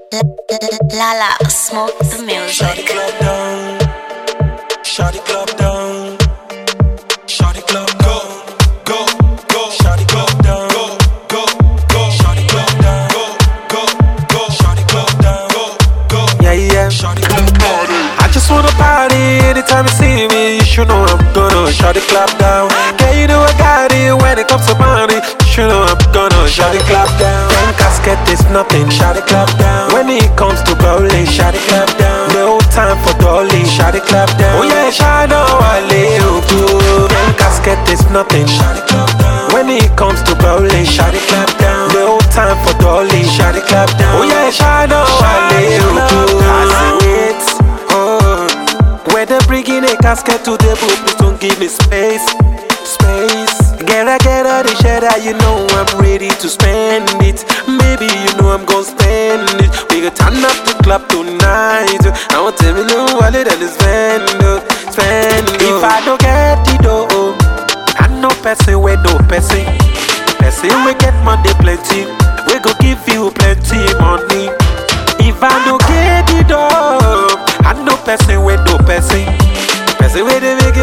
Lala, smoke the Shawty music. club down, shawty club down, shawty club go, go, go, shawty club down, go, go, go, shawty club down, go, go, go, shawty club down, go, go, Yeah, yeah. shawty club party. I just wanna party anytime you see me. You should know I'm gonna shut the club down. Yeah, you know I got it when it comes to money. You should know I'm gonna shut the club down. When casket is nothing, shut the club down. When it comes to bowling, shut the club down. No time for dolly, shut the club down. Oh yeah, shine I live good. When casket is nothing, shut the club down. When it comes to bowling, shut the club down. No time for dolly, shut the club down. Oh yeah, shine I live good. I see it. When they bring in a casket to the book, please don't give me space, space. Get all the shit that you know I'm ready to spend it. Maybe you know I'm gonna spend it. We gonna turn up the club tonight. I want to tell me no wallet that is spend, spend. If I don't get it, oh, I know person with no person. Person we get money plenty. We go give you plenty money. If I don't get it, oh, I know person with no person. Person with the make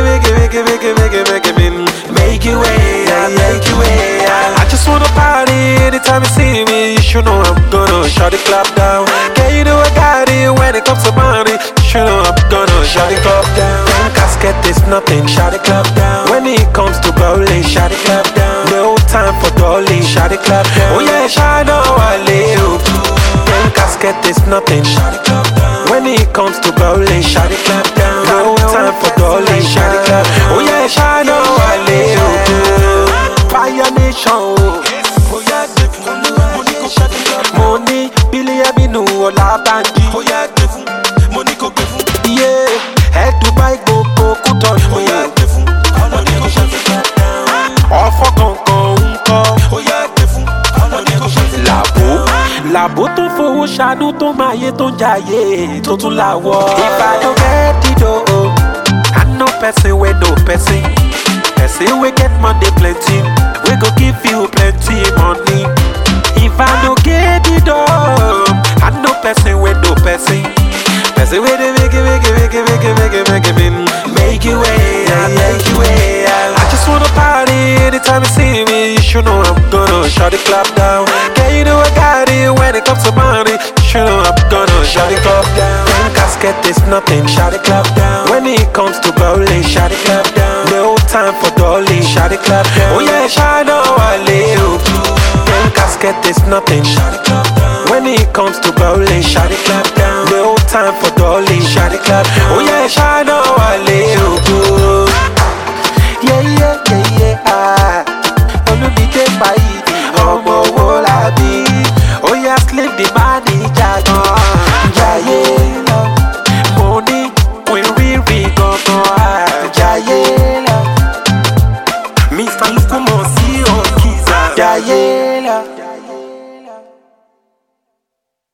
you way, make you way. I just wanna party anytime you see me. You should know I'm gonna shut the club down. Yeah, you know I got it when it comes to money. You should know I'm gonna shut the club down. When casket is nothing, shut the club down. When it comes to bowling, shut the club down. No time for dolly, shut the club down. Oh yeah, shine I live. When casket is nothing, shut the club down. When it comes to bowling, shut the club down. No time for dolly, shut the club down. Oh yeah, shine I live. Fire Nation, Oh yeah, devil, money go shawty club, money, Billy Abinu, Ola Banji. oh yeah, devil, money go devil, Yeah, head to buy go Kuton. oh yeah, devil, money go shawty club down, Ọ̀fọ̀ kankan ń kọ́. oh yeah, devil, money go shawty club Làbó, down. làbó tó fowó ṣàánú tó máa yé tó ń jayé tó tún láwọ̀. Ìbàdàn gẹ́dìdò o, I know person wey no person. Person wey get money plenty, we go give you plenty money. If I no get it up, I know person wey no person. Person wey dey make you way, make you way. I just wanna party anytime you see me. You should know I'm gonna shut the club down. Yeah, you know I got it when it comes to money. You should know I'm gonna shut the club down. When casket is nothing, shut the club down. When it comes to bowling, shut the club down. No time for dolly, shut the club down. Oh yeah, shine I live. When casket is nothing, shut the club down. When it comes to bowling, shut the club down. No time for dolly, shut the club down. Oh yeah, shine I live.